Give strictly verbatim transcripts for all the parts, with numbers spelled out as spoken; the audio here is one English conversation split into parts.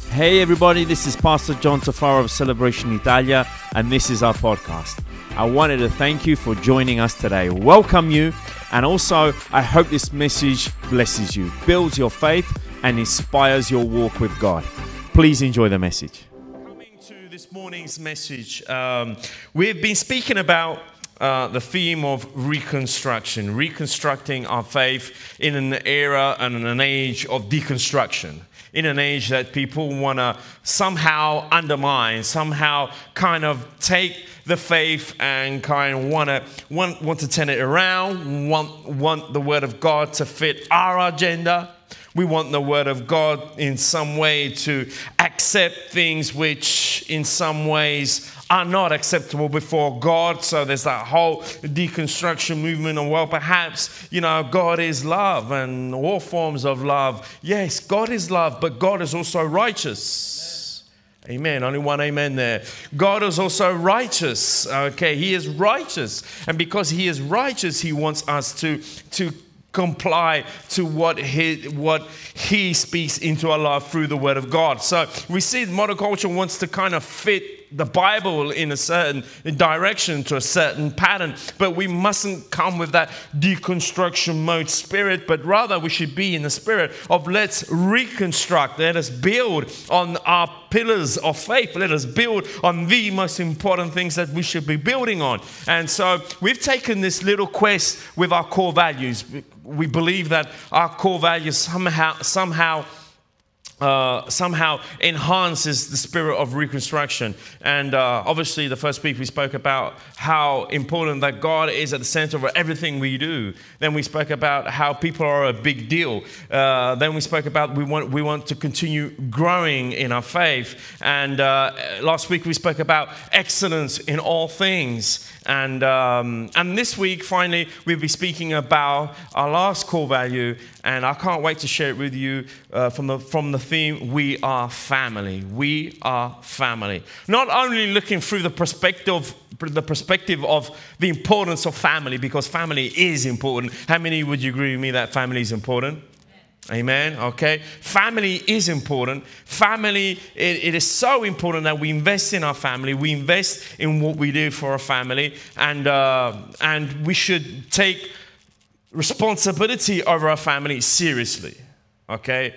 Hey everybody, this is Pastor John Tafaro of Celebration Italia, and this is our podcast. I wanted to thank you for joining us today, welcome you, and also I hope this message blesses you, builds your faith, and inspires your walk with God. Please enjoy the message. Coming to this morning's message, um, we've been speaking about Uh, the theme of reconstruction, reconstructing our faith in an era and in an age of deconstruction, in an age that people want to somehow undermine, somehow kind of take the faith and kind of want to want, want to turn it around, want, want the Word of God to fit our agenda. We want the Word of God in some way to accept things which in some ways are not acceptable before God. So there's that whole deconstruction movement. And well, perhaps, you know, God is love and all forms of love. Yes, God is love, but God is also righteous. Amen. Only one amen there. God is also righteous. Okay, He is righteous. And because He is righteous, He wants us to, to comply to what he, what he speaks into our life through the Word of God. So we see modern culture wants to kind of fit the Bible in a certain direction, to a certain pattern, but we mustn't come with that deconstruction mode spirit, but rather we should be in the spirit of let's reconstruct, let us build on our pillars of faith, let us build on the most important things that we should be building on. And so we've taken this little quest with our core values. We believe that our core values somehow somehow Uh, somehow enhances the spirit of reconstruction. And uh, obviously the first week we spoke about how important that God is at the center of everything we do. Then we spoke about how people are a big deal. Uh, then we spoke about we want we want to continue growing in our faith. And uh, last week we spoke about excellence in all things. And um, and this week, finally, we'll be speaking about our last core value, and I can't wait to share it with you uh, from the from the theme, we are family. We are family. Not only looking through the perspective the perspective of the importance of family, because family is important. How many would you agree with me that family is important? Amen. Okay. Family is important. Family, it, it is so important that we invest in our family. We invest in what we do for our family, and uh, and we should take responsibility over our family seriously. Okay.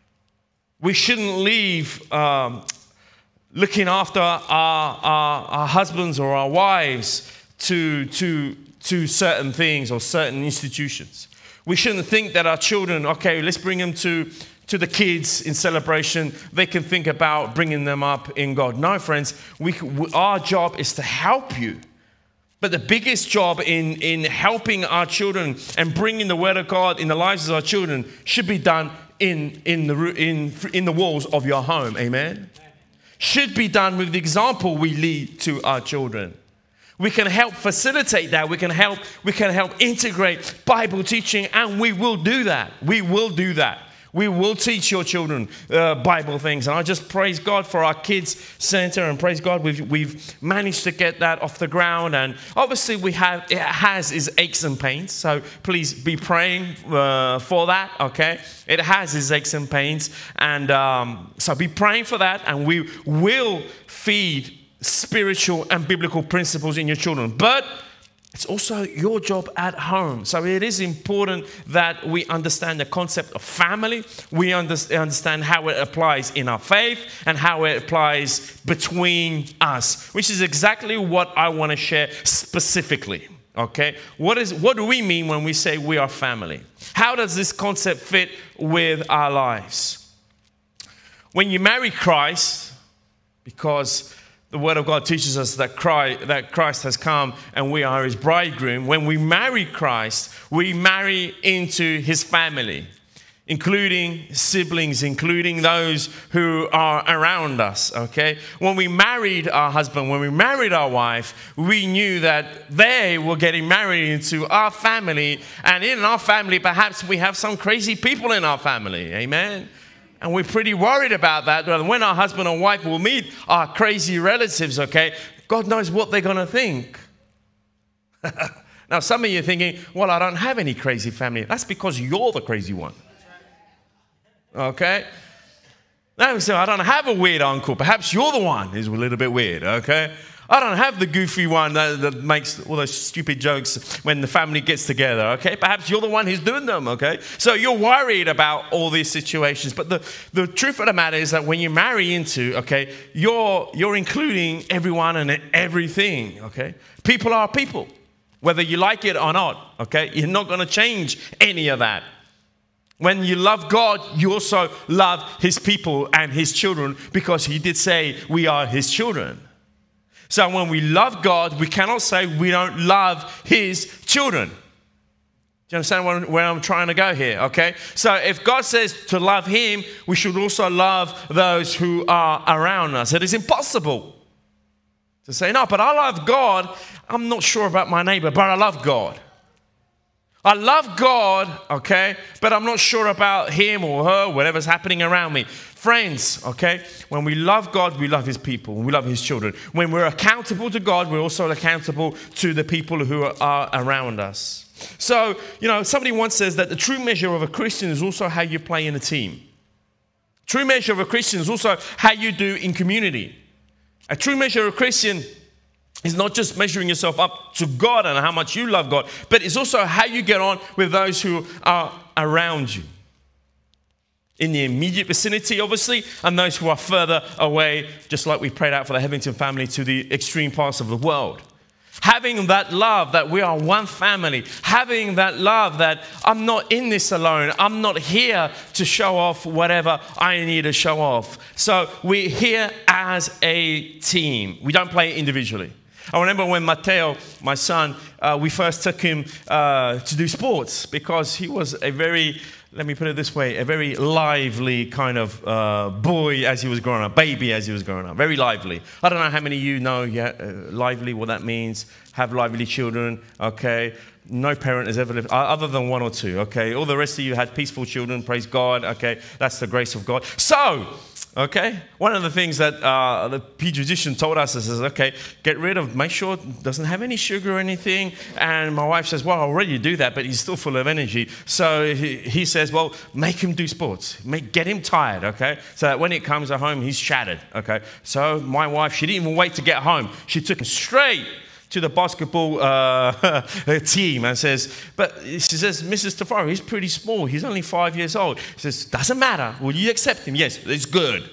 We shouldn't leave um, looking after our, our our husbands or our wives to to to certain things or certain institutions. We shouldn't think that our children, okay, let's bring them to, to the kids in celebration. They can think about bringing them up in God. No, friends, we, our job is to help you. But the biggest job in, in helping our children and bringing the Word of God in the lives of our children should be done in, in, the, in, in the walls of your home. Amen? Should be done with the example we lead to our children. We can help facilitate that. We can help, we can help integrate Bible teaching, and we will do that. We will do that. We will teach your children uh, Bible things. And I just praise God for our kids center, and praise God we've, we've managed to get that off the ground. And obviously we have, it has its aches and pains. So please be praying uh, for that, okay? It has its aches and pains. And um, so be praying for that, and we will feed spiritual and biblical principles in your children. But it's also your job at home. So it is important that we understand the concept of family. We understand how it applies in our faith and how it applies between us, which is exactly what I want to share specifically. Okay? What is what do we mean when we say we are family? How does this concept fit with our lives? When you marry Christ, because the Word of God teaches us that Christ, that Christ has come and we are His bridegroom. When we marry Christ, we marry into His family, including siblings, including those who are around us, okay? When we married our husband, when we married our wife, we knew that they were getting married into our family, and in our family, perhaps we have some crazy people in our family, amen? And we're pretty worried about that. When our husband or wife will meet our crazy relatives, okay, God knows what they're going to think. Now, some of you are thinking, well, I don't have any crazy family. That's because you're the crazy one. Okay? No, so I don't have a weird uncle. Perhaps you're the one who's a little bit weird, okay? I don't have the goofy one that, that makes all those stupid jokes when the family gets together, okay? Perhaps you're the one who's doing them, okay? So you're worried about all these situations. But the, the truth of the matter is that when you marry into, okay, you're, you're including everyone and everything, okay? People are people, whether you like it or not, okay? You're not going to change any of that. When you love God, you also love his people and his children because he did say we are his children. So when we love God, we cannot say we don't love his children. Do you understand where, where I'm trying to go here? Okay. So if God says to love him, we should also love those who are around us. It is impossible to say, no, but I love God. I'm not sure about my neighbor, but I love God. I love God, okay, but I'm not sure about him or her, whatever's happening around me. Friends, okay, when we love God, we love his people, we love his children. When we're accountable to God, we're also accountable to the people who are around us. So, you know, somebody once says that the true measure of a Christian is also how you play in a team. True measure of a Christian is also how you do in community. A true measure of a Christian is not just measuring yourself up to God and how much you love God, but it's also how you get on with those who are around you. In the immediate vicinity, obviously, and those who are further away, just like we prayed out for the Hetherington family, to the extreme parts of the world. Having that love that we are one family, having that love that I'm not in this alone, I'm not here to show off whatever I need to show off. So we're here as a team. We don't play individually. I remember when Matteo, my son, uh, we first took him uh, to do sports because he was a very, let me put it this way, a very lively kind of uh, boy as he was growing up, baby as he was growing up, very lively. I don't know how many of you know yeah, uh, lively, what that means, have lively children, okay? No parent has ever lived, other than one or two, okay? All the rest of you had peaceful children, praise God, okay? That's the grace of God. So, okay, one of the things that uh, the pediatrician told us is, okay, get rid of, make sure it doesn't have any sugar or anything. And my wife says, well, I already do that, but he's still full of energy. So he, he says, well, make him do sports. Make, get him tired, okay? So that when it comes at home, he's shattered, okay? So my wife, she didn't even wait to get home. She took him straight to the basketball uh, team and says, but she says, Missus Tafaro, he's pretty small. He's only five years old. She says, doesn't matter. Will you accept him? Yes, it's good.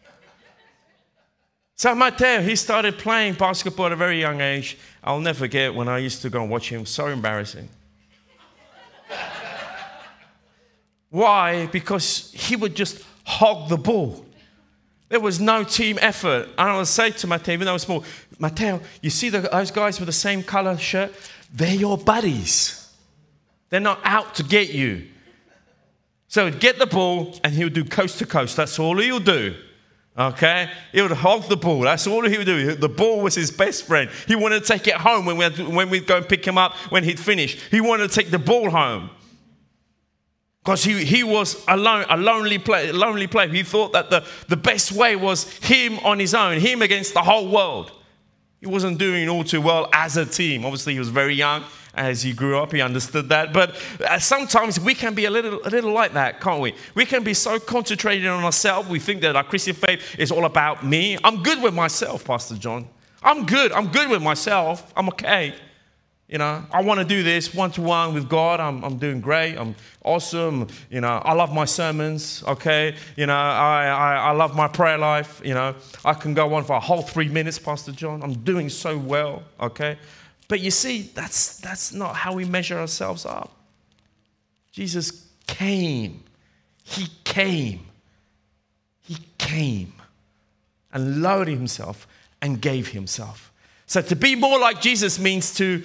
So Matteo, he started playing basketball at a very young age. I'll never forget when I used to go and watch him. So embarrassing. Why? Because he would just hog the ball. There was no team effort. And I would say to Matteo, even though I was small, Matteo, you see the, those guys with the same color shirt? They're your buddies. They're not out to get you. So he'd get the ball and he would do coast to coast. That's all he'll do. Okay? He would hog the ball. That's all he would do. The ball was his best friend. He wanted to take it home when, we had to, when we'd go and pick him up when he'd finish. He wanted to take the ball home. Because he, he was alone, a lonely player, lonely player. He thought that the, the best way was him on his own, him against the whole world. He wasn't doing all too well as a team. Obviously, he was very young. As he grew up, he understood that. But uh, sometimes we can be a little, a little like that, can't we? We can be so concentrated on ourselves. We think that our Christian faith is all about me. I'm good with myself, Pastor John. I'm good. I'm good with myself. I'm okay. You know, I want to do this one-to-one with God. I'm, I'm doing great. I'm awesome. You know, I love my sermons, okay? You know, I, I, I love my prayer life. You know, I can go on for a whole three minutes, Pastor John. I'm doing so well, okay? But you see, that's, that's not how we measure ourselves up. Jesus came. He came. He came and lowered himself and gave himself. So to be more like Jesus means to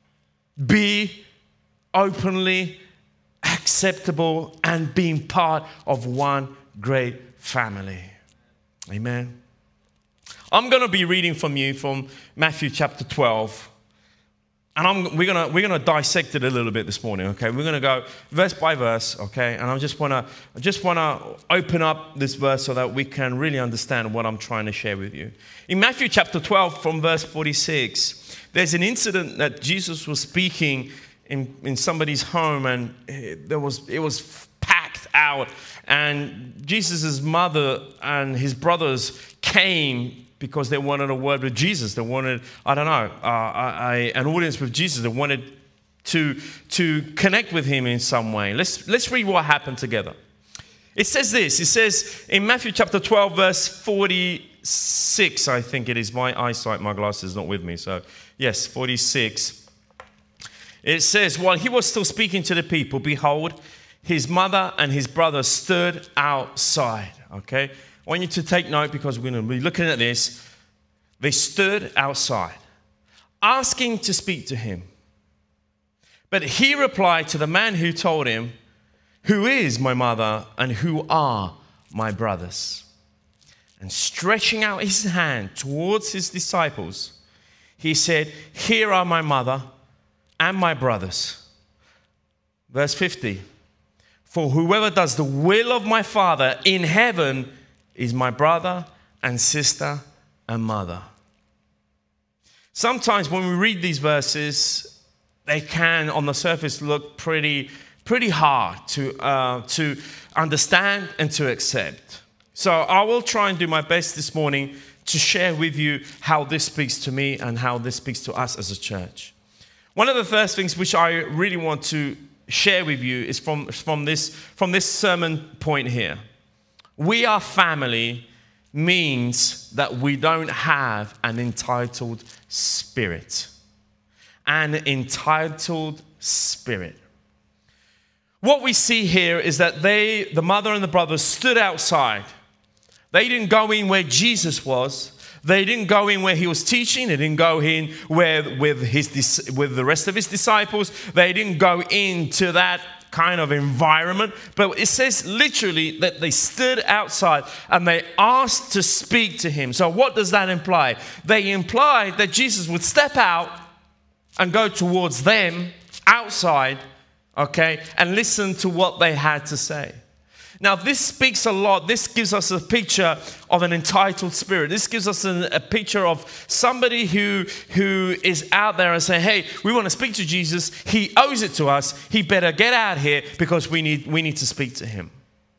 be openly acceptable and being part of one great family. Amen. I'm going to be reading from you from Matthew chapter twelve. And I'm, we're going we're gonna dissect it a little bit this morning, okay? We're going to go verse by verse, okay? And I just want to I just want to open up this verse so that we can really understand what I'm trying to share with you. In Matthew chapter twelve from verse forty-six, there's an incident that Jesus was speaking in, in somebody's home, and there was it was packed packed out. And Jesus' mother and his brothers came because they wanted a word with Jesus. They wanted, I don't know, uh, a, a, an audience with Jesus. They wanted to, to connect with him in some way. Let's, let's read what happened together. It says this. It says in Matthew chapter twelve, verse forty-six, I think it is. My eyesight, my glasses not with me. So, yes, forty-six. It says, while he was still speaking to the people, behold, his mother and his brother stood outside. Okay? I want you to take note because we're going to be looking at this. They stood outside, asking to speak to him. But he replied to the man who told him, who is my mother and who are my brothers? And stretching out his hand towards his disciples, he said, here are my mother and my brothers. Verse fifty. For whoever does the will of my Father in heaven is my brother and sister and mother. Sometimes when we read these verses, they can, on the surface, look pretty, pretty hard to, uh, to understand and to accept. So I will try and do my best this morning to share with you how this speaks to me and how this speaks to us as a church. One of the first things which I really want to share with you is from, from, this, from this sermon point here. We are family means that we don't have an entitled spirit. An entitled spirit. What we see here is that they, the mother and the brothers, stood outside. They didn't go in where Jesus was. They didn't go in where he was teaching. They didn't go in where with his with the rest of his disciples. They didn't go into that kind of environment. But it says literally that they stood outside and they asked to speak to him. So what does that imply? They implied that Jesus would step out and go towards them outside, okay, and listen to what they had to say. Now, this speaks a lot. This gives us a picture of an entitled spirit. This gives us a, a picture of somebody who, who is out there and saying, hey, we want to speak to Jesus. He owes it to us. He better get out here because we need, we need to speak to him.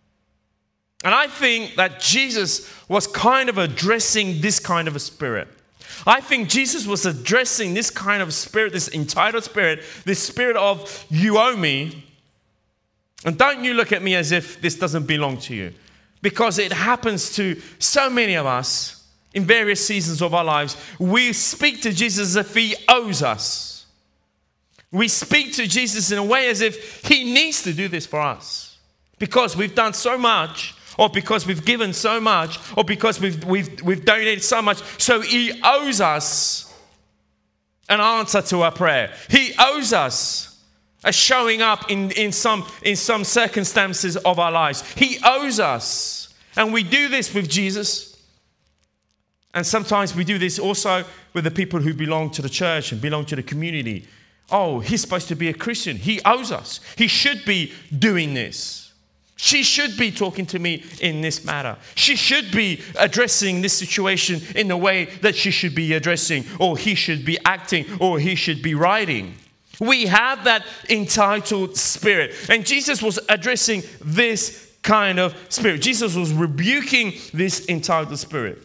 And I think that Jesus was kind of addressing this kind of a spirit. I think Jesus was addressing this kind of spirit, this entitled spirit, this spirit of you owe me. And don't you look at me as if this doesn't belong to you. Because it happens to so many of us in various seasons of our lives. We speak to Jesus as if he owes us. We speak to Jesus in a way as if he needs to do this for us. Because we've done so much, or because we've given so much, or because we've, we've, we've donated so much. So he owes us an answer to our prayer. He owes us a showing up in, in, some, in some circumstances of our lives. He owes us. And we do this with Jesus. And sometimes we do this also with the people who belong to the church and belong to the community. Oh, he's supposed to be a Christian. He owes us. He should be doing this. She should be talking to me in this matter. She should be addressing this situation in the way that she should be addressing, or he should be acting, or he should be writing. We have that entitled spirit. And Jesus was addressing this kind of spirit. Jesus was rebuking this entitled spirit.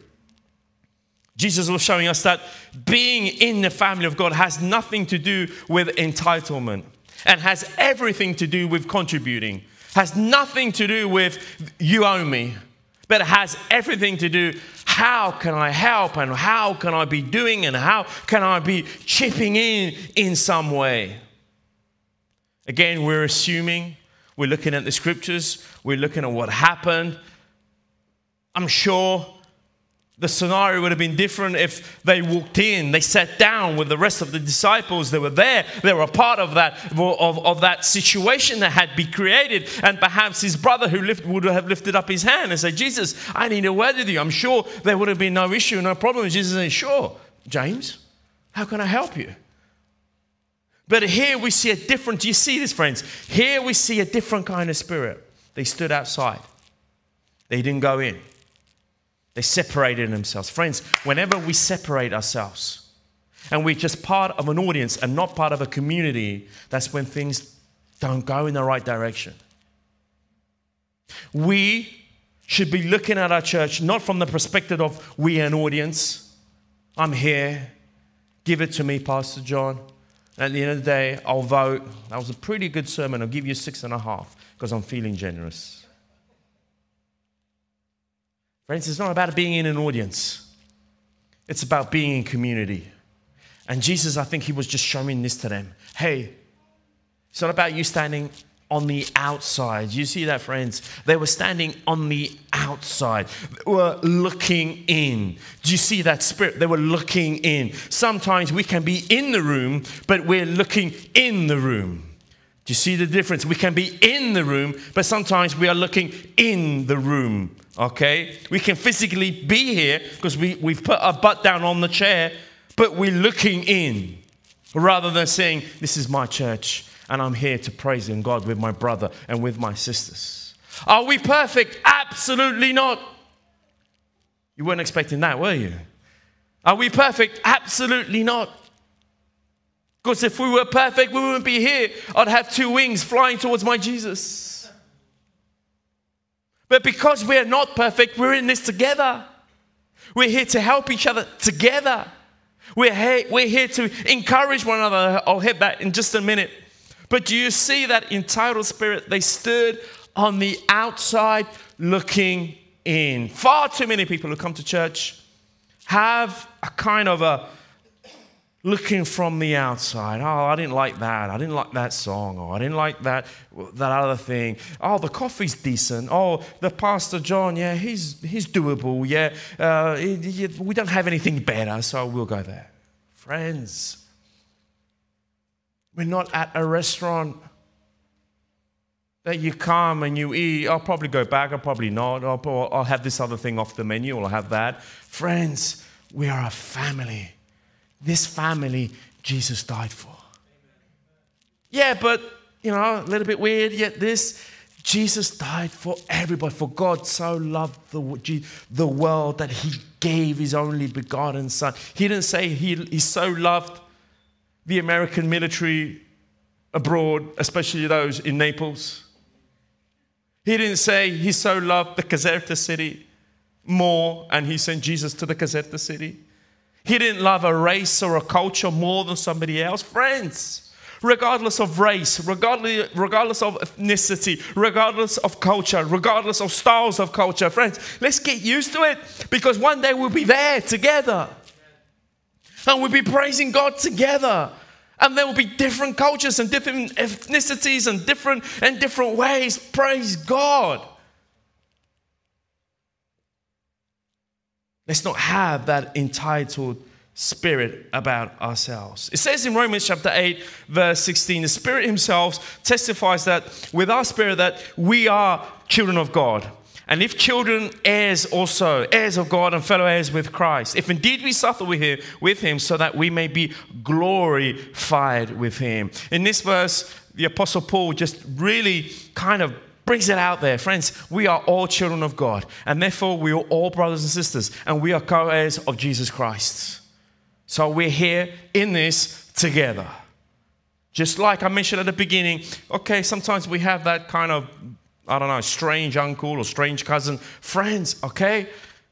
Jesus was showing us that being in the family of God has nothing to do with entitlement and has everything to do with contributing. Has nothing to do with you owe me, but it has everything to do how can I help and how can I be doing and how can I be chipping in in some way. Again, we're assuming, we're looking at the scriptures, we're looking at what happened. I'm sure the scenario would have been different if they walked in, they sat down with the rest of the disciples. They were there. They were a part of that, of, of that situation that had been created. And perhaps his brother who lift, would have lifted up his hand and said, Jesus, I need a word with you. I'm sure there would have been no issue, no problem. Jesus said, sure, James, how can I help you? But here we see a different, do you see this, friends? Here we see a different kind of spirit. They stood outside. They didn't go in. They separated themselves. Friends, whenever we separate ourselves and we're just part of an audience and not part of a community, that's when things don't go in the right direction. We should be looking at our church not from the perspective of we an audience. I'm here. Give it to me, Pastor John. At the end of the day, I'll vote. That was a pretty good sermon. I'll give you six and a half because I'm feeling generous. Friends, it's not about being in an audience. It's about being in community. And Jesus, I think he was just showing this to them. Hey, it's not about you standing on the outside. You see that, friends? They were standing on the outside. They were looking in. Do you see that spirit? They were looking in. Sometimes we can be in the room, but we're looking in the room. Do you see the difference? We can be in the room, but sometimes we are looking in the room. Okay? We can physically be here because we, we've put our butt down on the chair, but we're looking in rather than saying, this is my church. And I'm here to praise in God with my brother and with my sisters. Are we perfect? Absolutely not. You weren't expecting that, were you? Are we perfect? Absolutely not. Because if we were perfect, we wouldn't be here. I'd have two wings flying towards my Jesus. But because we're not perfect, we're in this together. We're here to help each other together. We're here, we're here to encourage one another. I'll hit that in just a minute. But do you see that entitled spirit? They stood on the outside looking in. Far too many people who come to church have a kind of a looking from the outside. Oh, I didn't like that. I didn't like that song. Or I didn't like that, that other thing. Oh, the coffee's decent. Oh, the Pastor John, yeah, he's he's doable. Yeah, uh, he, he, we don't have anything better, so we'll go there. Friends, we're not at a restaurant that you come and you eat. I'll probably go back. I'll probably not. I'll, I'll have this other thing off the menu. Or I'll have that. Friends, we are a family. This family, Jesus died for. Yeah, but, you know, a little bit weird, yet this, Jesus died for everybody. For God so loved the, the world that he gave his only begotten son. He didn't say he, he so loved the American military abroad, especially those in Naples. He didn't say he so loved the Caserta city more and he sent Jesus to the Caserta city. He didn't love a race or a culture more than somebody else. Friends, regardless of race, regardless, regardless of ethnicity, regardless of culture, regardless of styles of culture, friends, let's get used to it because one day we'll be there together. And we'll be praising God together. And there will be different cultures and different ethnicities and different and different ways. Praise God. Let's not have that entitled spirit about ourselves. It says in Romans chapter eight, verse sixteen, the Spirit himself testifies that with our spirit that we are children of God. And if children, heirs also, heirs of God and fellow heirs with Christ. If indeed we suffer with him, with him, so that we may be glorified with him. In this verse, the Apostle Paul just really kind of brings it out there. Friends, we are all children of God. And therefore, we are all brothers and sisters. And we are co-heirs of Jesus Christ. So we're here in this together. Just like I mentioned at the beginning, okay, sometimes we have that kind of, I don't know, strange uncle or strange cousin. Friends, okay?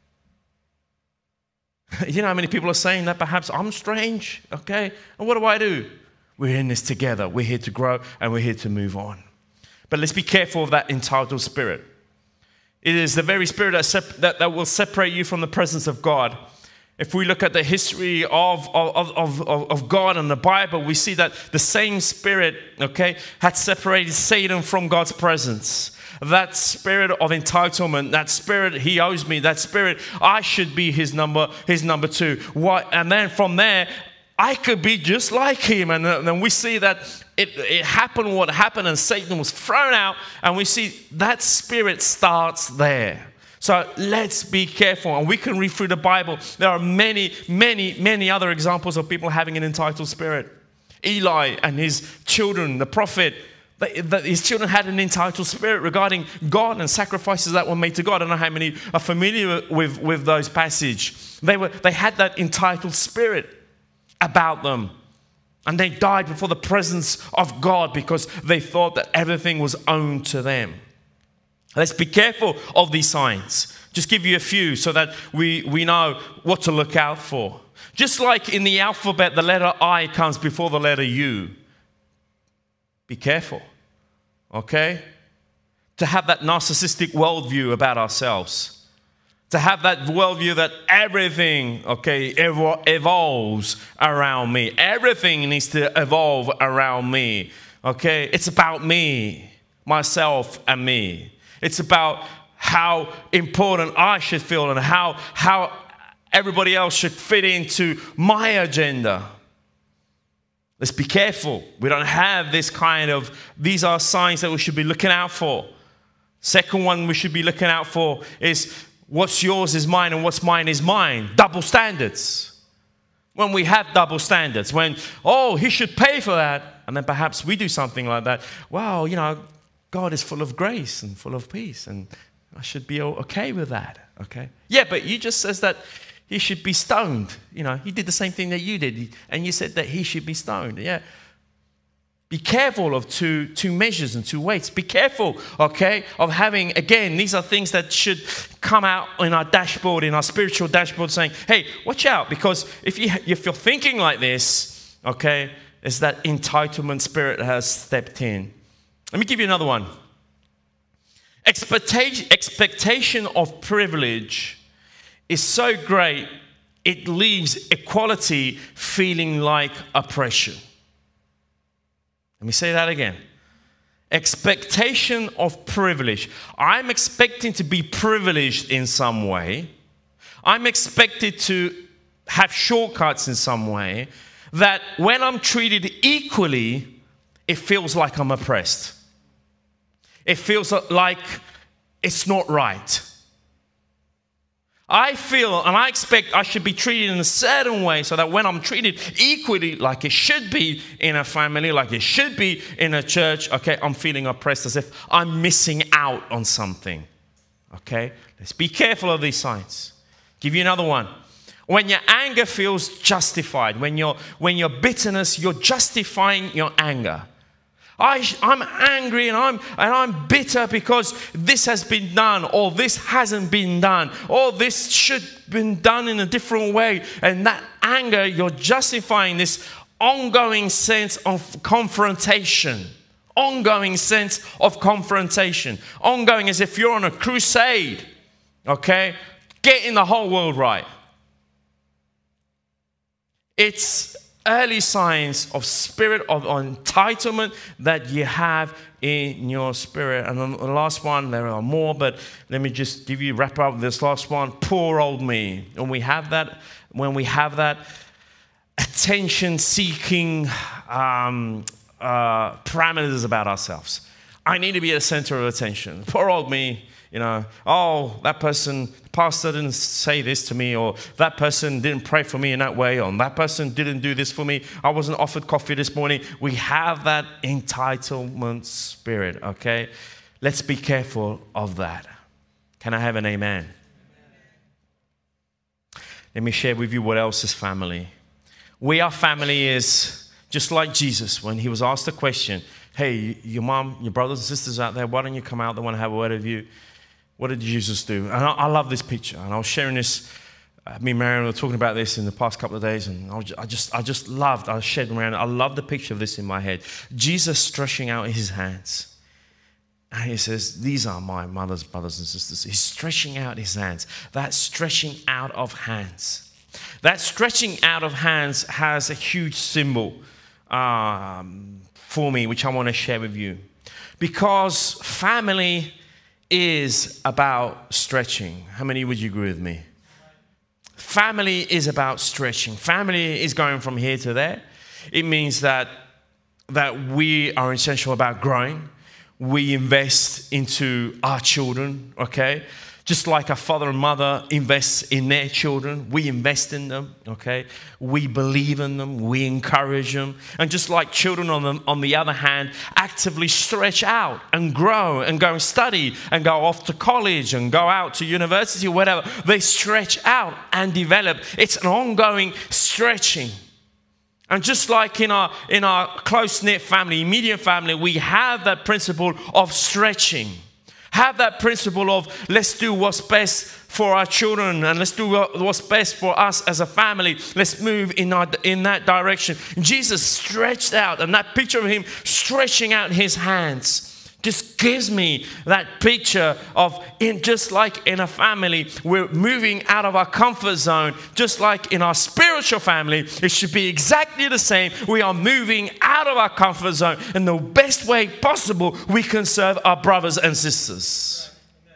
You know how many people are saying that perhaps I'm strange, okay? And what do I do? We're in this together. We're here to grow and we're here to move on. But let's be careful of that entitled spirit. It is the very spirit that, sep- that, that will separate you from the presence of God. If we look at the history of, of, of, of, of God and the Bible, we see that the same spirit, okay, had separated Satan from God's presence. That spirit of entitlement, that spirit he owes me, that spirit I should be his number, his number two. What? And then from there, I could be just like him. And then we see that it, it happened what happened and Satan was thrown out. And we see that spirit starts there. So let's be careful. And we can read through the Bible. There are many, many, many other examples of people having an entitled spirit. Eli and his children, the prophet, that his children had an entitled spirit regarding God and sacrifices that were made to God. I don't know how many are familiar with, with those passages. They were they had that entitled spirit about them. And they died before the presence of God because they thought that everything was owned to them. Let's be careful of these signs. Just give you a few so that we, we know what to look out for. Just like in the alphabet, the letter I comes before the letter U. Be careful, okay? To have that narcissistic worldview about ourselves. To have that worldview that everything, okay, evo- evolves around me. Everything needs to evolve around me, okay? It's about me, myself and me. It's about how important I should feel and how, how everybody else should fit into my agenda. Let's be careful. We don't have this kind of, these are signs that we should be looking out for. Second one we should be looking out for is what's yours is mine and what's mine is mine. Double standards. When we have double standards, when, oh, he should pay for that, and then perhaps we do something like that. Well, you know, God is full of grace and full of peace, and I should be okay with that, okay? Yeah, but you just says that he should be stoned. You know, he did the same thing that you did, and you said that he should be stoned. Yeah. Be careful of two, two measures and two weights. Be careful, okay, of having, again, these are things that should come out in our dashboard, in our spiritual dashboard, saying, hey, watch out, because if, you, if you're thinking like this, okay, it's that entitlement spirit that has stepped in. Let me give you another one. Expectation, expectation of privilege is so great, it leaves equality feeling like oppression. Let me say that again. Expectation of privilege. I'm expecting to be privileged in some way. I'm expected to have shortcuts in some way, that when I'm treated equally, it feels like I'm oppressed. It feels like it's not right. I feel and I expect I should be treated in a certain way so that when I'm treated equally like it should be in a family, like it should be in a church, okay, I'm feeling oppressed as if I'm missing out on something. Okay? Let's be careful of these signs. Give you another one. When your anger feels justified, when your when your bitterness, you're justifying your anger. I, I'm angry and I'm and I'm bitter because this has been done, or this hasn't been done, or this should have been done in a different way. And that anger, you're justifying this ongoing sense of confrontation. Ongoing sense of confrontation. Ongoing as if you're on a crusade. Okay? Getting the whole world right. It's early signs of spirit of entitlement that you have in your spirit. And the last one, there are more, but let me just give you, wrap up this last one. Poor old me. When we have that, when we have that attention-seeking um, uh, parameters about ourselves. I need to be at the center of attention. Poor old me. You know, oh, that person, the pastor didn't say this to me, or that person didn't pray for me in that way, or that person didn't do this for me. I wasn't offered coffee this morning. We have that entitlement spirit, okay? Let's be careful of that. Can I have an amen? Let me share with you what else is family. We, our family, is just like Jesus when he was asked the question, hey, your mom, your brothers and sisters out there, why don't you come out? They want to have a word with you. What did Jesus do? And I, I love this picture. And I was sharing this, uh, me and Marion were talking about this in the past couple of days, and I, was, I just I just loved, I shared around, I love the picture of this in my head. Jesus stretching out his hands. And he says, these are my mother's brothers and sisters. He's stretching out his hands. That stretching out of hands. That stretching out of hands has a huge symbol um, for me, which I want to share with you. Because family is about stretching. How many would you agree with me? Family is about stretching. Family is going from here to there. It means that, that we are essential about growing. We invest into our children, okay? Just like a father and mother invests in their children, we invest in them, okay? We believe in them, we encourage them. And just like children on the, on the other hand, actively stretch out and grow and go and study and go off to college and go out to university or whatever. They stretch out and develop. It's an ongoing stretching. And just like in our, in our close-knit family, immediate family, we have that principle of stretching. Have that principle of let's do what's best for our children and let's do what's best for us as a family. Let's move in, our, in that direction. Jesus stretched out, and that picture of him stretching out his hands just gives me that picture of in just like in a family, we're moving out of our comfort zone. Just like in our spiritual family, it should be exactly the same. We are moving out of our comfort zone in the best way possible we can serve our brothers and sisters.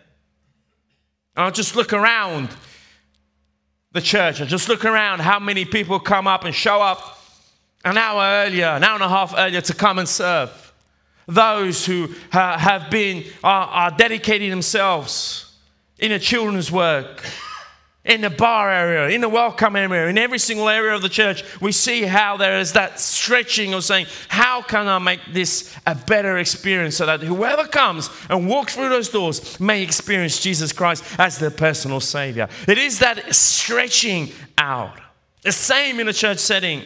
I'll just look around the church. I just look around how many people come up and show up an hour earlier, an hour and a half earlier to come and serve. Those who uh, have been, are, are dedicating themselves in a children's work, in the bar area, in the welcome area, in every single area of the church, we see how there is that stretching of saying, how can I make this a better experience so that whoever comes and walks through those doors may experience Jesus Christ as their personal Savior. It is that stretching out. The same in a church setting.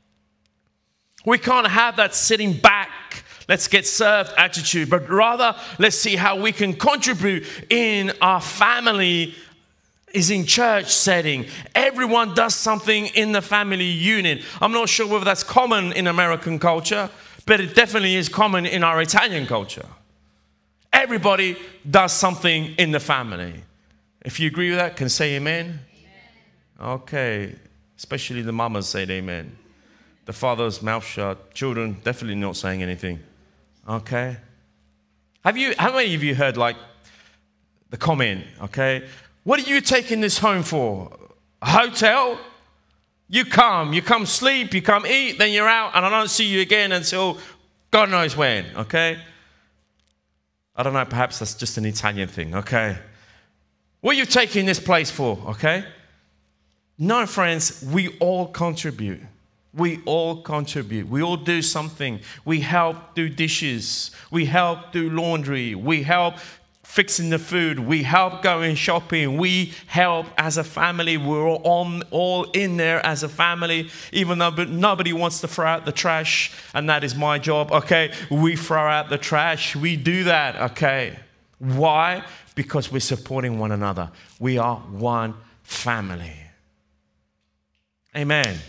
We can't have that sitting back, let's get served attitude, but rather let's see how we can contribute in our family is in church setting. Everyone does something in the family unit. I'm not sure whether that's common in American culture, but it definitely is common in our Italian culture. Everybody does something in the family. If you agree with that, can say amen? Amen. Okay, especially the mamas say amen. The father's mouth shut. Children definitely not saying anything. Okay. Have you? How many of you heard like the comment? Okay. What are you taking this home for? A hotel? You come, you come sleep, you come eat, then you're out, and I don't see you again until God knows when. Okay. I don't know. Perhaps that's just an Italian thing. Okay. What are you taking this place for? Okay. No, friends. We all contribute. We all contribute. We all do something. We help do dishes. We help do laundry. We help fixing the food. We help going shopping. We help as a family. We're all, all in there as a family, even though nobody wants to throw out the trash, and that is my job, okay? We throw out the trash. We do that, okay? Why? Because we're supporting one another. We are one family. Amen.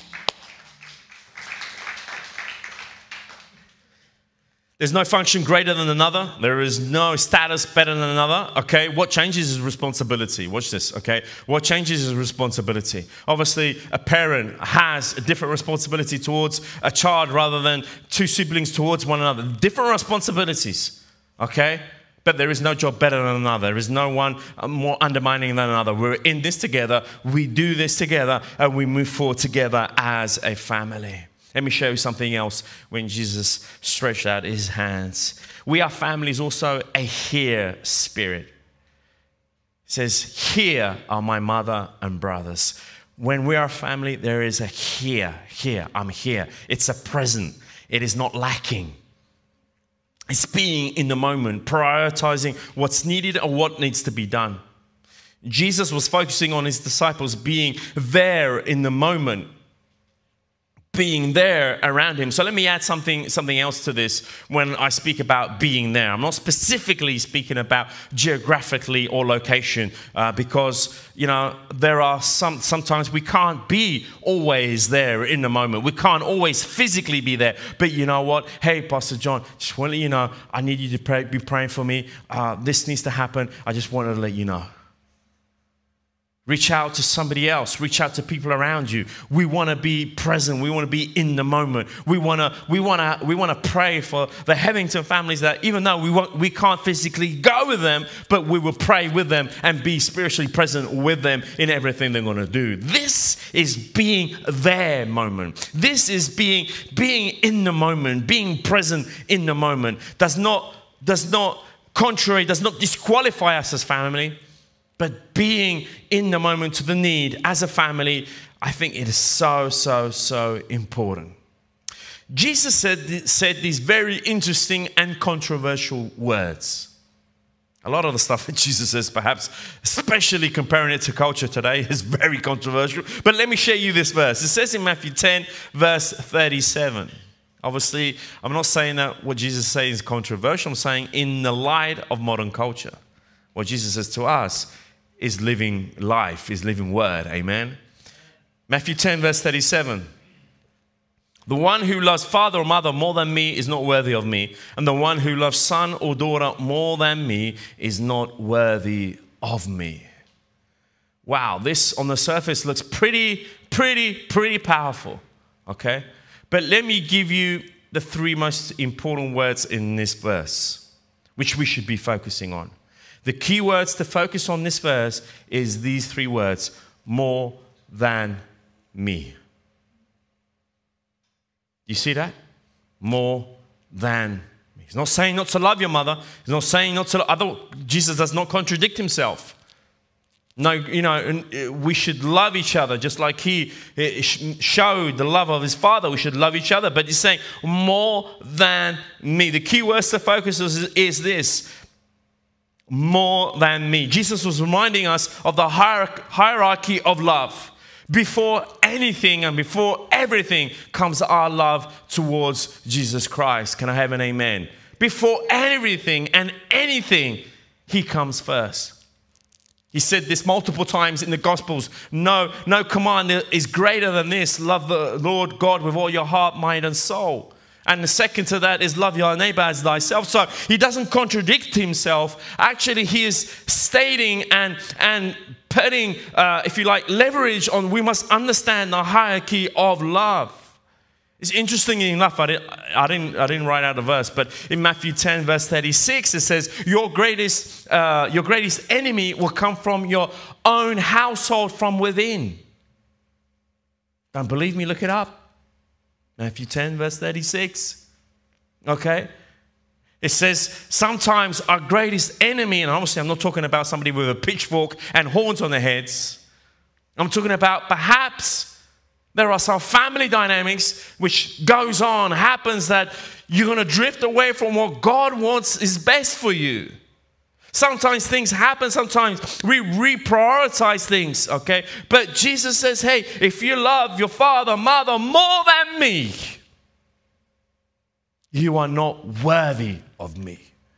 There's no function greater than another. There is no status better than another. Okay, what changes is responsibility. Watch this, okay? What changes is responsibility. Obviously, a parent has a different responsibility towards a child rather than two siblings towards one another. Different responsibilities, okay? But there is no job better than another. There is no one more undermining than another. We're in this together. We do this together, and we move forward together as a family. Let me show you something else when Jesus stretched out his hands. We are families also a here spirit. It says, here are my mother and brothers. When we are a family, there is a here, here, I'm here. It's a present. It is not lacking. It's being in the moment, prioritizing what's needed or what needs to be done. Jesus was focusing on his disciples being there in the moment, being there around him. So let me add something something else to this when I speak about being there. I'm not specifically speaking about geographically or location uh, because, you know, there are some, sometimes we can't be always there in the moment. We can't always physically be there. But you know what? Hey, Pastor John, just want to let you know, I need you to pray, be praying for me. Uh, this needs to happen. I just wanted to let you know. Reach out to somebody else. Reach out to people around you. We want to be present. We want to be in the moment. We want to. We want to. We want to pray for the Headington families that, even though we want, we can't physically go with them, but we will pray with them and be spiritually present with them in everything they're going to do. This is being their moment. This is being being in the moment. Being present in the moment does not does not contrary does not disqualify us as family. But being in the moment to the need as a family, I think it is so, so, so important. Jesus said, said these very interesting and controversial words. A lot of the stuff that Jesus says, perhaps, especially comparing it to culture today, is very controversial. But let me share you this verse. It says in Matthew ten, verse thirty-seven. Obviously, I'm not saying that what Jesus says is controversial. I'm saying in the light of modern culture, what Jesus says to us is living life, is living word. Amen. Matthew ten, verse thirty-seven. The one who loves father or mother more than me is not worthy of me. And the one who loves son or daughter more than me is not worthy of me. Wow, this on the surface looks pretty, pretty, pretty powerful. Okay? But let me give you the three most important words in this verse, which we should be focusing on. The key words to focus on this verse is these three words: more than me. You see that? More than me. He's not saying not to love your mother. He's not saying not to. Other, Jesus does not contradict himself. No, you know, we should love each other just like he showed the love of his Father. We should love each other. But he's saying more than me. The key words to focus is, is this: more than me. Jesus was reminding us of the hierarchy of love. Before anything and before everything comes our love towards Jesus Christ. Can I have an amen? Before everything and anything, he comes first. He said this multiple times in the Gospels. No, no command is greater than this. Love the Lord God with all your heart, mind, and soul. And the second to that is love your neighbor as thyself. So he doesn't contradict himself. Actually, he is stating and, and putting, uh, if you like, leverage on we must understand the hierarchy of love. It's interesting enough, I didn't, I didn't, I didn't write out a verse, but in Matthew ten, verse thirty-six, it says, your greatest, uh, your greatest enemy will come from your own household from within. Don't believe me? Look it up. Matthew ten, verse thirty-six. Okay? It says, sometimes our greatest enemy, and obviously I'm not talking about somebody with a pitchfork and horns on their heads. I'm talking about perhaps there are some family dynamics which goes on, happens that you're going to drift away from what God wants is best for you. Sometimes things happen. Sometimes we reprioritize things, okay? But Jesus says, hey, if you love your father, mother more than me, you are not worthy of me.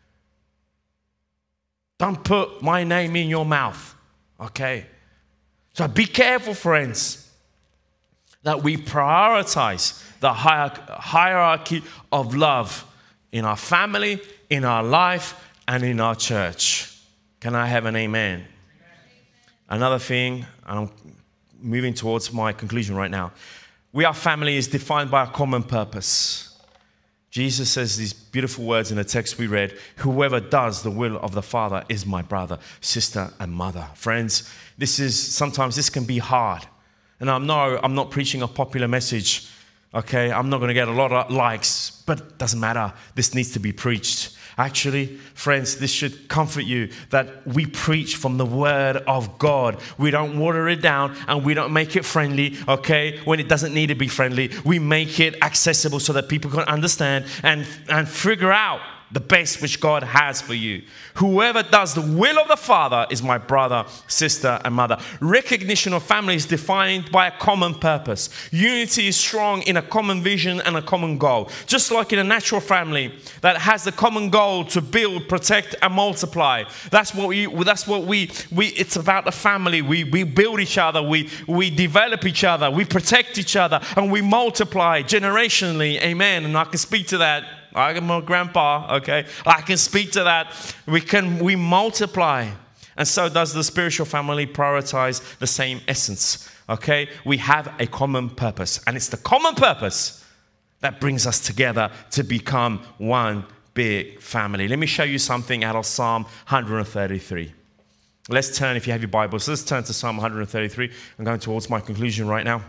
Don't put my name in your mouth, okay? So be careful, friends, that we prioritize the hierarchy of love in our family, in our life, and in our church. Can I have an amen? Amen. Another thing, and I'm moving towards my conclusion right now. We, our family, is defined by a common purpose. Jesus says these beautiful words in the text we read: whoever does the will of the Father is my brother, sister, and mother. Friends, this is, sometimes this can be hard. And I know I'm not preaching a popular message, okay? I'm not going to get a lot of likes, but it doesn't matter. This needs to be preached. Actually, friends, this should comfort you that we preach from the Word of God. We don't water it down and we don't make it friendly, okay, when it doesn't need to be friendly. We make it accessible so that people can understand and, and figure out the best which God has for you. Whoever does the will of the Father is my brother, sister, and mother. Recognition of family is defined by a common purpose. Unity is strong in a common vision and a common goal. Just like in a natural family that has the common goal to build, protect, and multiply. That's what we. That's what we. We. It's about the family. We we build each other. We we develop each other. We protect each other, and we multiply generationally. Amen. And I can speak to that. I'm a grandpa, okay? I can speak to that. We can, we multiply. And so does the spiritual family prioritize the same essence, okay? We have a common purpose. And it's the common purpose that brings us together to become one big family. Let me show you something out of Psalm one thirty-three. Let's turn, if you have your Bibles, let's turn to Psalm one thirty-three. I'm going towards my conclusion right now.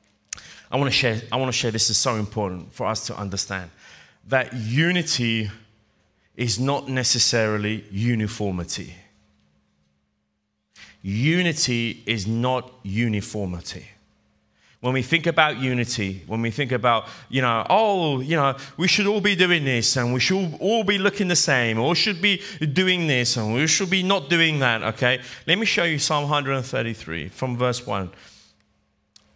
I want to share, I want to share this is so important for us to understand. That unity is not necessarily uniformity. Unity is not uniformity. When we think about unity, when we think about, you know, oh, you know, we should all be doing this and we should all be looking the same, or should be doing this and we should be not doing that, okay? Let me show you Psalm one thirty-three from verse one.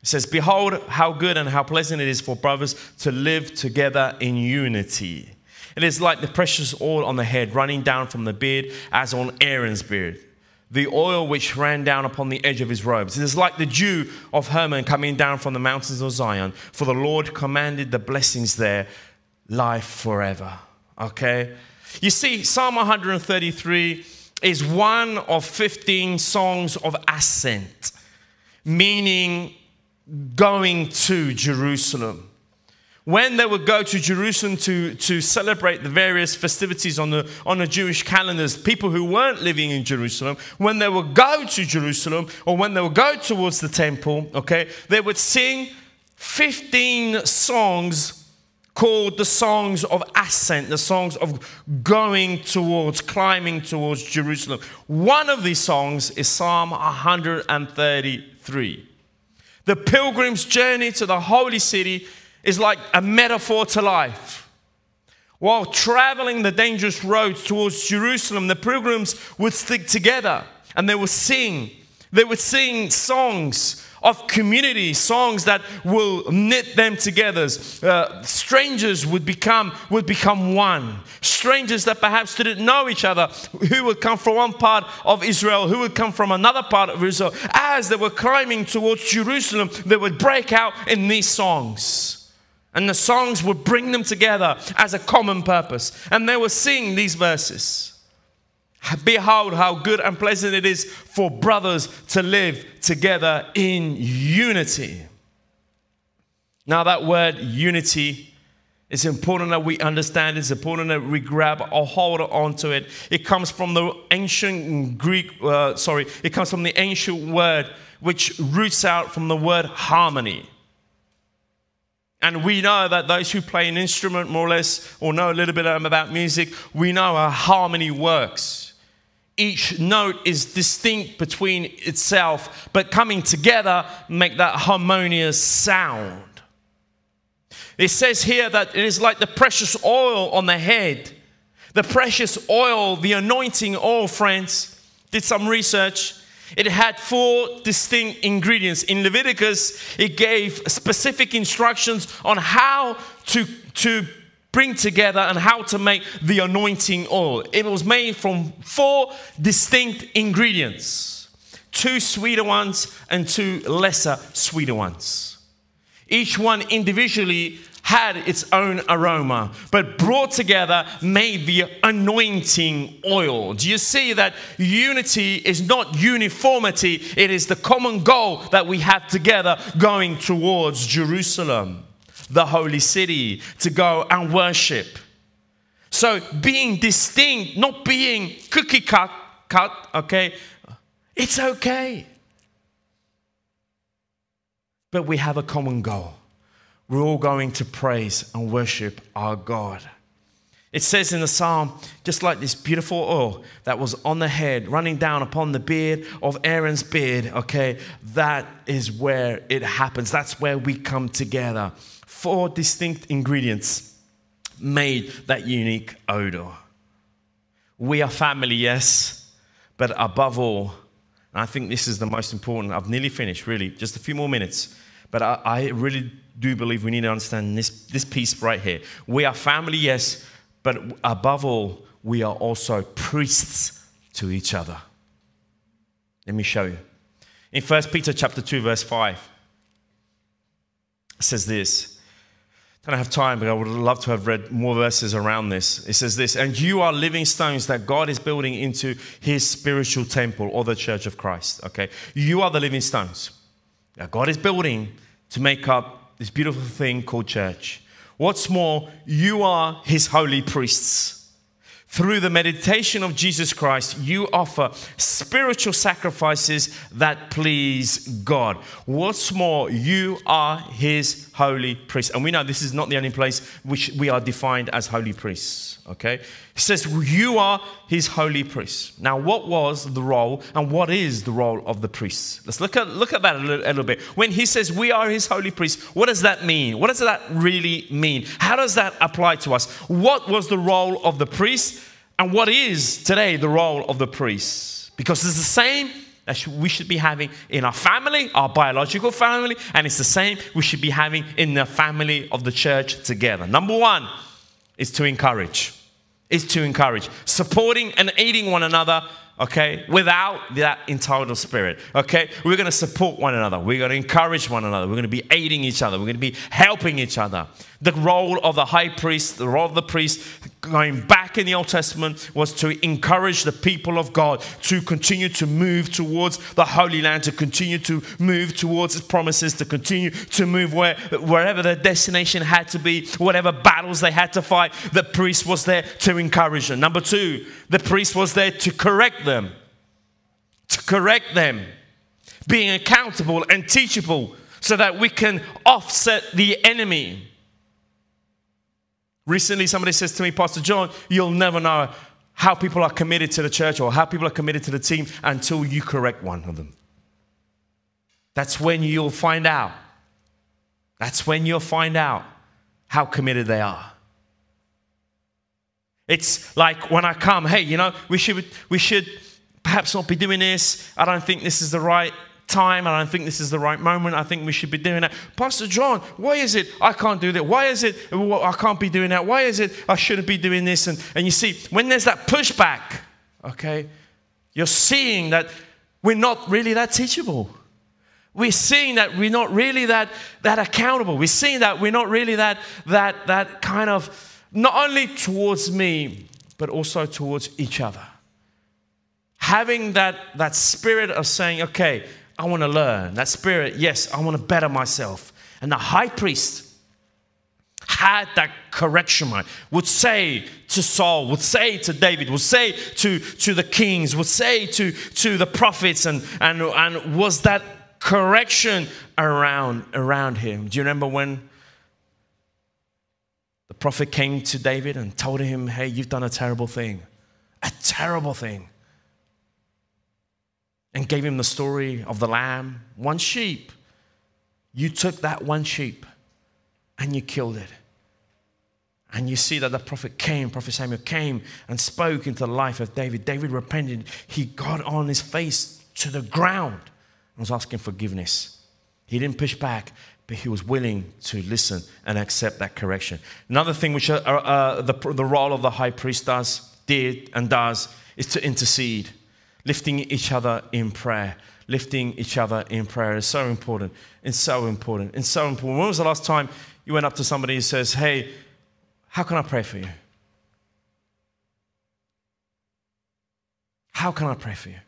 It says, behold how good and how pleasant it is for brothers to live together in unity. It is like the precious oil on the head running down from the beard as on Aaron's beard, the oil which ran down upon the edge of his robes. It is like the dew of Hermon coming down from the mountains of Zion, for the Lord commanded the blessings there, life forever. Okay? You see, Psalm one thirty-three is one of fifteen songs of ascent, meaning going to Jerusalem. When they would go to Jerusalem to, to celebrate the various festivities on the, on the Jewish calendars, people who weren't living in Jerusalem, when they would go to Jerusalem or when they would go towards the temple, okay, they would sing fifteen songs called the songs of ascent, the songs of going towards, climbing towards Jerusalem. One of these songs is Psalm one thirty-three. The pilgrim's journey to the holy city is like a metaphor to life. While traveling the dangerous roads towards Jerusalem, the pilgrims would stick together and they would sing. They would sing songs of community, songs that will knit them together. Uh, strangers would become, would become one. Strangers that perhaps didn't know each other, who would come from one part of Israel, who would come from another part of Israel. As they were climbing towards Jerusalem, they would break out in these songs. And the songs would bring them together as a common purpose. And they would sing these verses. Behold how good and pleasant it is for brothers to live together in unity. Now that word unity, it's important that we understand. It's important that we grab or hold on to it. It comes from the ancient Greek, uh, sorry, it comes from the ancient word which roots out from the word harmony. And we know that those who play an instrument more or less, or know a little bit about music, we know how harmony works. Each note is distinct between itself, but coming together make that harmonious sound. It says here that it is like the precious oil on the head. The precious oil, the anointing oil, friends, did some research. It had four distinct ingredients. In Leviticus, it gave specific instructions on how to, to bring together and how to make the anointing oil. It was made from four distinct ingredients. Two sweeter ones and two lesser sweeter ones. Each one individually had its own aroma, but brought together made the anointing oil. Do you see that unity is not uniformity? It is the common goal that we have together going towards Jerusalem, the holy city, to go and worship. So being distinct, not being cookie cut, cut, okay, it's okay. But we have a common goal. We're all going to praise and worship our God. It says in the psalm, just like this beautiful oil that was on the head, running down upon the beard of Aaron's beard, okay, that is where it happens. That's where we come together. Four distinct ingredients made that unique odor. We are family, yes, but above all, and I think this is the most important, I've nearly finished, really, just a few more minutes, but I, I really do believe we need to understand this, this piece right here. We are family, yes, but above all, we are also priests to each other. Let me show you. In First Peter chapter two, verse five, it says this. I don't have time, but I would love to have read more verses around this. It says this, and you are living stones that God is building into his spiritual temple, or the church of Christ, okay? You are the living stones that God is building to make up this beautiful thing called church. What's more, you are his holy priests. Through the meditation of Jesus Christ, you offer spiritual sacrifices that please God. What's more, you are his holy priest. And we know this is not the only place which we are defined as holy priests. Okay? He says you are his holy priest. Now, what was the role and what is the role of the priests? Let's look at look at that a little, a little bit. When he says we are his holy priests, what does that mean? What does that really mean? How does that apply to us? What was the role of the priest and what is today the role of the priest? Because it's the same that we should be having in our family, our biological family, and it's the same we should be having in the family of the church together. Number one is to encourage. Is to encourage. Supporting and aiding one another, okay, without that entitled spirit, okay? We're going to support one another. We're going to encourage one another. We're going to be aiding each other. We're going to be helping each other. The role of the high priest, the role of the priest, going back in the Old Testament, was to encourage the people of God to continue to move towards the Holy Land, to continue to move towards His promises, to continue to move where, wherever their destination had to be, whatever battles they had to fight, the priest was there to encourage them. Number two, the priest was there to correct them. To correct them. Being accountable and teachable so that we can offset the enemy. Recently, somebody says to me, Pastor John, you'll never know how people are committed to the church or how people are committed to the team until you correct one of them. That's when you'll find out. That's when you'll find out how committed they are. It's like when I come, hey, you know, we should we should perhaps not be doing this. I don't think this is the right time. I don't think this is the right moment. I think we should be doing that. Pastor John, why is it I can't do that? Why is it I can't be doing that? Why is it I shouldn't be doing this? And, and you see, when there's that pushback, okay, you're seeing that we're not really that teachable. We're seeing that we're not really that, that accountable. We're seeing that we're not really that, that, that kind of, not only towards me, but also towards each other. Having that, that spirit of saying, okay, I want to learn. That spirit, yes, I want to better myself. And the high priest had that correction mind, would say to Saul, would say to David, would say to, to the kings, would say to, to the prophets, and, and, and was that correction around, around him. Do you remember when the prophet came to David and told him, hey, you've done a terrible thing, a terrible thing. And gave him the story of the lamb, one sheep. You took that one sheep and you killed it. And you see that the prophet came, Prophet Samuel came and spoke into the life of David. David repented. He got on his face to the ground and was asking forgiveness. He didn't push back, but he was willing to listen and accept that correction. Another thing which uh, uh, the, the role of the high priest does, did and does, is to intercede. Lifting each other in prayer. Lifting each other in prayer is so important. It's so important. It's so important. When was the last time you went up to somebody and says, hey, how can I pray for you? How can I pray for you?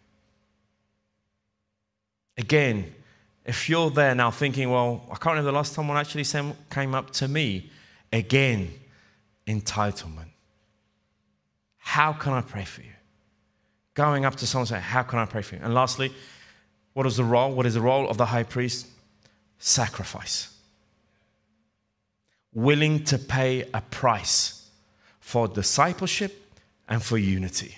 Again, if you're there now thinking, well, I can't remember the last time one actually came up to me. Again, entitlement. How can I pray for you? Going up to someone and saying, how can I pray for you? And lastly, what is the role? What is the role of the high priest? Sacrifice. Willing to pay a price for discipleship and for unity.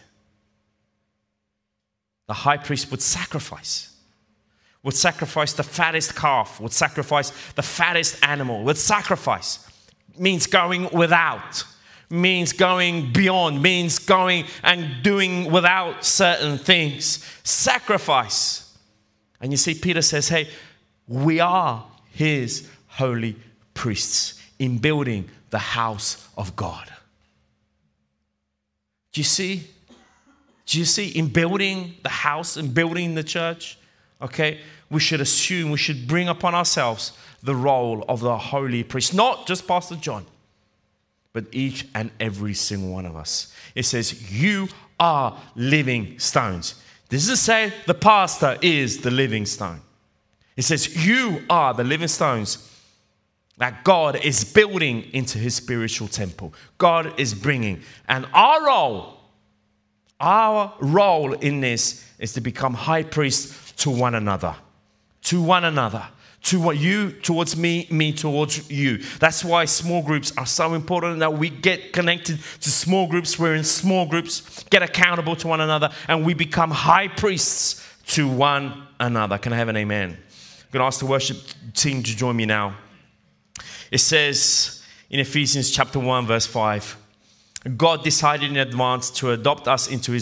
The high priest would sacrifice. Would sacrifice the fattest calf. Would sacrifice the fattest animal. Would sacrifice. Means going without. Means going beyond, means going and doing without certain things. Sacrifice. And you see, Peter says, hey, we are his holy priests in building the house of God. Do you see? Do you see? In building the house and building the church, okay, we should assume, we should bring upon ourselves the role of the holy priest. Not just Pastor John, but each and every single one of us. It says, you are living stones. This doesn't say the pastor is the living stone. It says, you are the living stones that God is building into his spiritual temple. God is bringing. And our role, our role in this is to become high priests to one another. To one another. To what you towards me, me towards you. That's why small groups are so important, that we get connected to small groups. We're in small groups, get accountable to one another, and we become high priests to one another. Can I have an amen? I'm going to ask the worship team to join me now. It says in Ephesians chapter one, verse five, God decided in advance to adopt us into his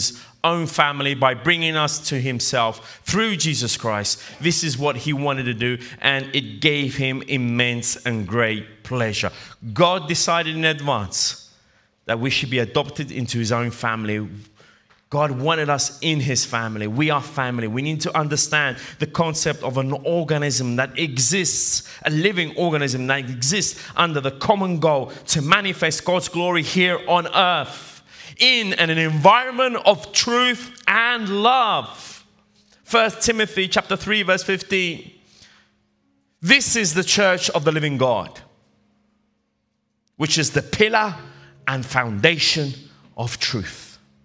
own family by bringing us to himself through Jesus Christ. This is what he wanted to do, and it gave him immense and great pleasure. God decided in advance that we should be adopted into his own family. God wanted us in his family. We are family. We need to understand the concept of an organism that exists, a living organism that exists under the common goal to manifest God's glory here on earth in an environment of truth and love. First Timothy chapter three verse fifteen. This is the church of the living God, which is the pillar and foundation of truth.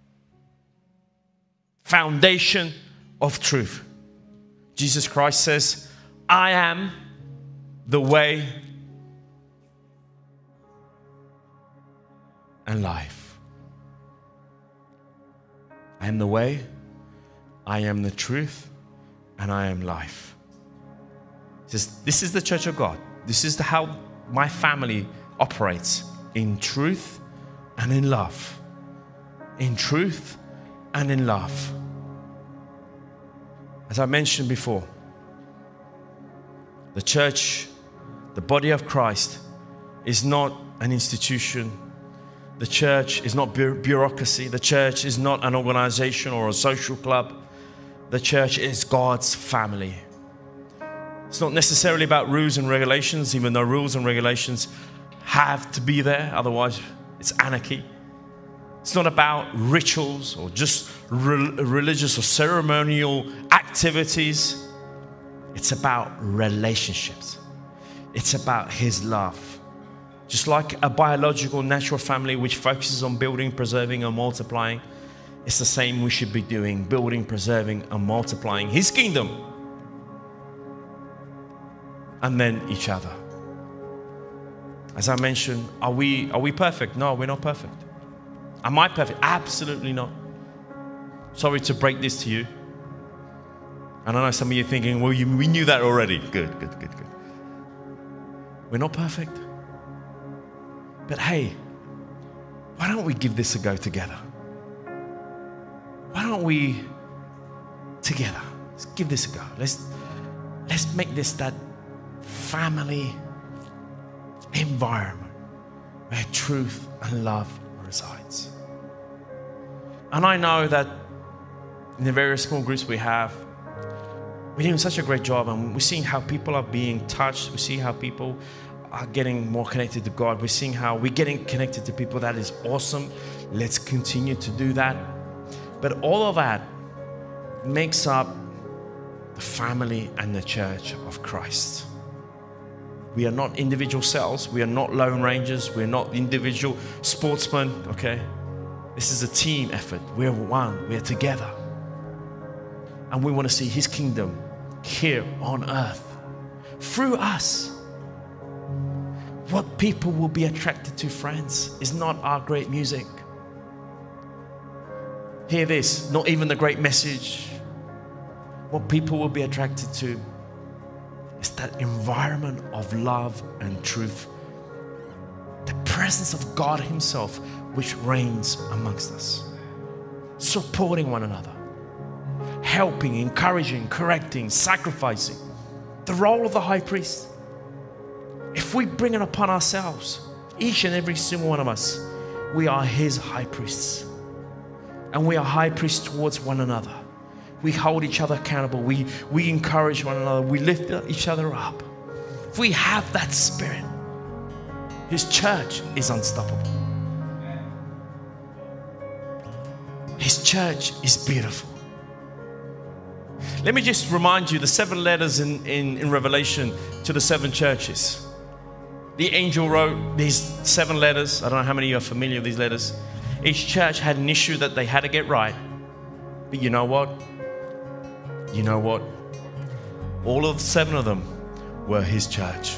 Foundation of truth. Jesus Christ says, I am the way and life. I am the way, I am the truth, and I am life. He says, this is the church of God. This is the, how my family operates, in truth and in love. In truth and in love. As I mentioned before, the church, the body of Christ, is not an institution. The church is not bureaucracy. The church is not an organization or a social club. The church is God's family. It's not necessarily about rules and regulations, even though rules and regulations have to be there, otherwise it's anarchy. It's not about rituals or just re- religious or ceremonial activities. It's about relationships. It's about his love. Just like a biological, natural family which focuses on building, preserving, and multiplying, it's the same we should be doing, building, preserving, and multiplying his kingdom. And then each other. As I mentioned, are we, are we perfect? No, we're not perfect. Am I perfect? Absolutely not. Sorry to break this to you. And I know some of you are thinking, well, you, we knew that already. Good, good, good, good. We're not perfect. But hey, why don't we give this a go together? Why don't we, together, let's give this a go. Let's, let's make this that family environment where truth and love resides. And I know that in the various small groups we have, we're doing such a great job, and we're seeing how people are being touched. We see how people are getting more connected to God. We're seeing how we're getting connected to people. That is awesome. Let's continue to do that. But all of that makes up the family and the church of Christ. We are not individual cells. We are not lone rangers. We're not individual sportsmen, okay? This is a team effort. We're one. We're together. And we want to see his kingdom here on earth through us. What people will be attracted to, friends, is not our great music. Hear this, not even the great message. What people will be attracted to is that environment of love and truth. The presence of God himself, which reigns amongst us. Supporting one another. Helping, encouraging, correcting, sacrificing. The role of the high priest. If we bring it upon ourselves, each and every single one of us, we are his high priests. And we are high priests towards one another. We hold each other accountable. We, we encourage one another. We lift each other up. If we have that spirit, his church is unstoppable. His church is beautiful. Let me just remind you the seven letters in, in, in Revelation to the seven churches. The angel wrote these seven letters. I don't know how many of you are familiar with these letters. Each church had an issue that they had to get right. But you know what? You know what? All of the seven of them were his church.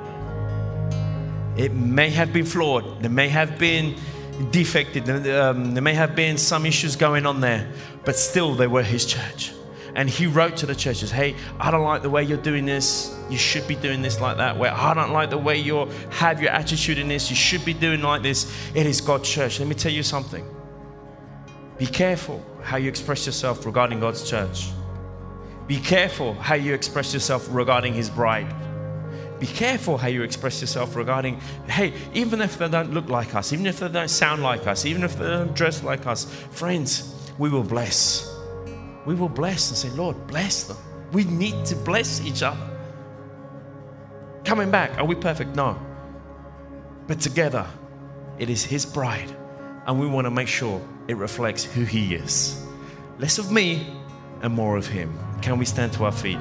It may have been flawed. There may have been defected. Um, there may have been some issues going on there. But still, they were his church. And he wrote to the churches, hey, I don't like the way you're doing this. You should be doing this like that. Where I don't like the way you have your attitude in this. You should be doing like this. It is God's church. Let me tell you something. Be careful how you express yourself regarding God's church. Be careful how you express yourself regarding His bride. Be careful how you express yourself regarding, hey, even if they don't look like us, even if they don't sound like us, even if they don't dress like us, friends, we will bless. We will bless and say, Lord, bless them. We need to bless each other. Coming back, are we perfect? No. But together, it is His bride, and we want to make sure it reflects who He is. Less of me and more of Him. Can we stand to our feet?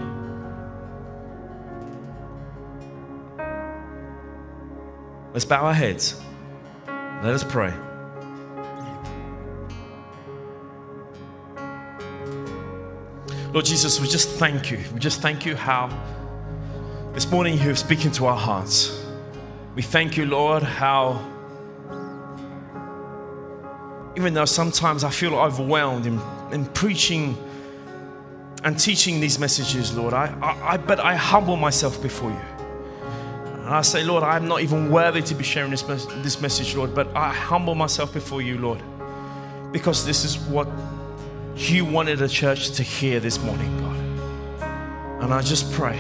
Let's bow our heads. Let us pray. Lord Jesus, we just thank you. We just thank you how this morning you are speaking to our hearts. We thank you, Lord, how even though sometimes I feel overwhelmed in, in preaching and teaching these messages, Lord, I, I, I but I humble myself before you. And I say, Lord, I'm not even worthy to be sharing this, mes- this message, Lord, but I humble myself before you, Lord, because this is what you wanted the church to hear this morning, God. And I just pray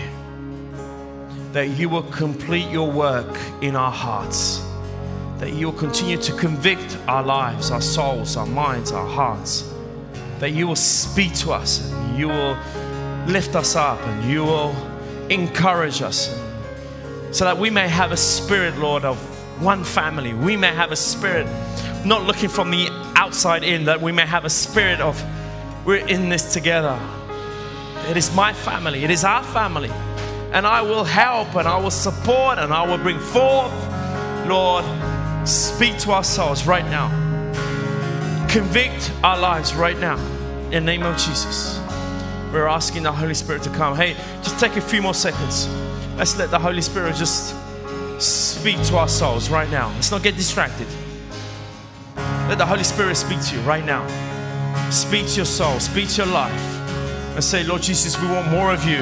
that you will complete your work in our hearts, that you will continue to convict our lives, our souls, our minds, our hearts, that you will speak to us, and you will lift us up, and you will encourage us, so that we may have a spirit, Lord, of one family. We may have a spirit not looking from the outside in, that we may have a spirit of we're in this together. It is my family. It is our family. And I will help, and I will support, and I will bring forth. Lord, speak to our souls right now. Convict our lives right now. In the name of Jesus. We're asking the Holy Spirit to come. Hey, just take a few more seconds. Let's let the Holy Spirit just speak to our souls right now. Let's not get distracted. Let the Holy Spirit speak to you right now. Speak to your soul. Speak to your life. And say, Lord Jesus, we want more of you.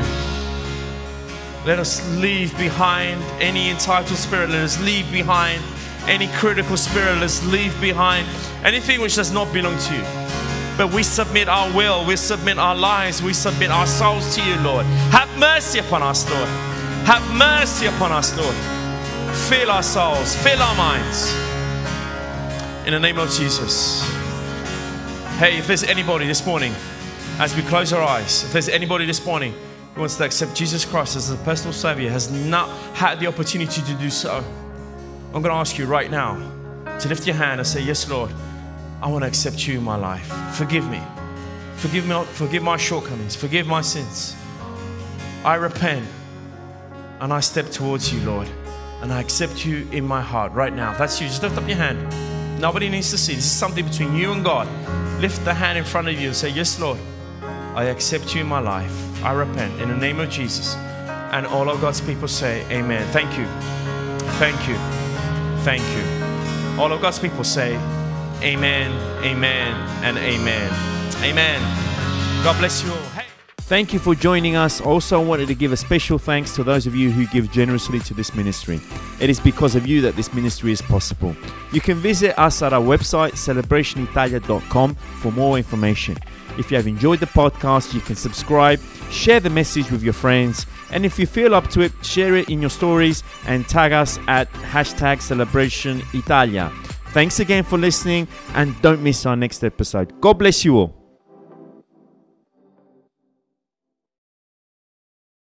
Let us leave behind any entitled spirit. Let us leave behind any critical spirit. Let us leave behind anything which does not belong to you. But we submit our will. We submit our lives. We submit our souls to you, Lord. Have mercy upon us, Lord. Have mercy upon us, Lord. Fill our souls. Fill our minds. In the name of Jesus. Hey, if there's anybody this morning, as we close our eyes, if there's anybody this morning who wants to accept Jesus Christ as a personal Savior, has not had the opportunity to do so, I'm going to ask you right now to lift your hand and say, yes, Lord, I want to accept you in my life. Forgive me. Forgive me. Forgive my shortcomings. Forgive my sins. I repent. And I step towards you, Lord. And I accept you in my heart right now. If that's you, just lift up your hand. Nobody needs to see. This is something between you and God. Lift the hand in front of you and say, yes, Lord, I accept you in my life. I repent in the name of Jesus. And all of God's people say, amen. Thank you. Thank you. Thank you. All of God's people say, amen, amen, and amen. Amen. God bless you all. Hey. Thank you for joining us. Also, I wanted to give a special thanks to those of you who give generously to this ministry. It is because of you that this ministry is possible. You can visit us at our website, celebration italia dot com, for more information. If you have enjoyed the podcast, you can subscribe, share the message with your friends, and if you feel up to it, share it in your stories and tag us at hashtag Celebration Italia. Thanks again for listening, and don't miss our next episode. God bless you all.